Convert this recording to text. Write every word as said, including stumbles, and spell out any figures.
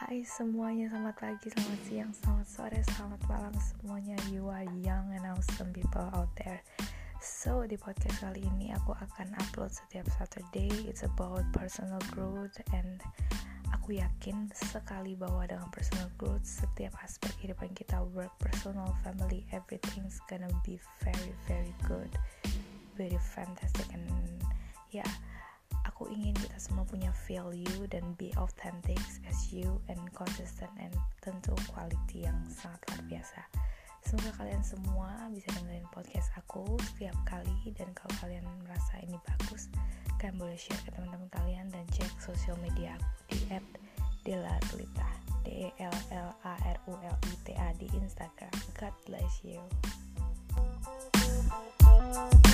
Hai semuanya, selamat pagi, selamat siang, selamat sore, selamat malam semuanya. You are young and awesome people out there. So, di podcast kali ini aku akan upload setiap Saturday. It's about personal growth, and aku yakin sekali bahwa dengan personal growth setiap aspek kehidupan kita, work, personal, family, everything's gonna be very very good, very fantastic. And ya yeah, aku ingin kita semua punya value dan be authentic as you and consistent, and tentu quality yang sangat luar biasa. Semoga kalian semua bisa dengerin podcast aku setiap kali, dan kalau kalian merasa ini bagus, kalian boleh share ke teman-teman kalian dan cek sosial media aku di et delarulita D E L L A R U L I T A di Instagram. God bless you.